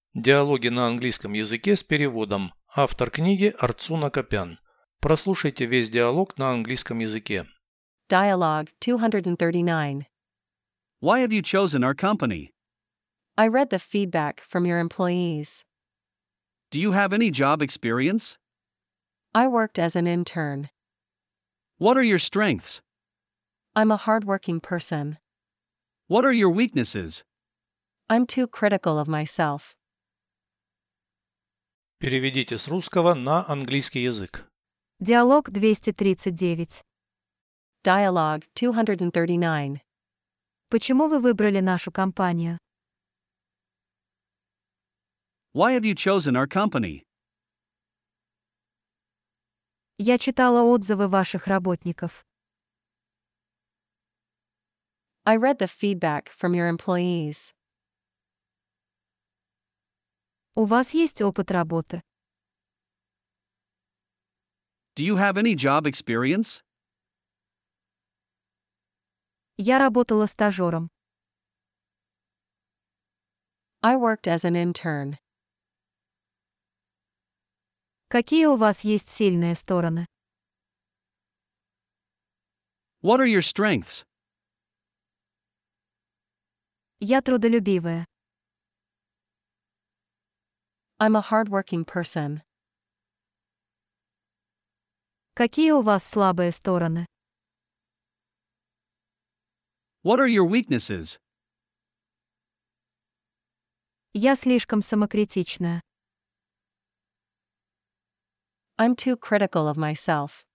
Диалоги на английском языке с переводом. Автор книги Арцуна Копян. Прослушайте весь диалог на английском языке. Dialogue 239. Why have you chosen our company? I read the feedback from your employees. Do you have any job experience? I worked as an intern. What are your strengths? I'm a hardworking person. What are your weaknesses? I'm too critical of myself. Переведите с русского на английский язык. Диалог 239. Dialogue 239. Почему вы выбрали нашу компанию? Why have you chosen our company? Я читала отзывы ваших работников. I read the feedback from your employees. У вас есть опыт работы? Do you have any job experience? Я работала стажером. I worked as an intern. Какие у вас есть сильные стороны? What are your strengths? Я трудолюбивая. I'm a hardworking person. Какие у вас слабые стороны? What are your weaknesses? Я слишком самокритичная. I'm too critical of myself.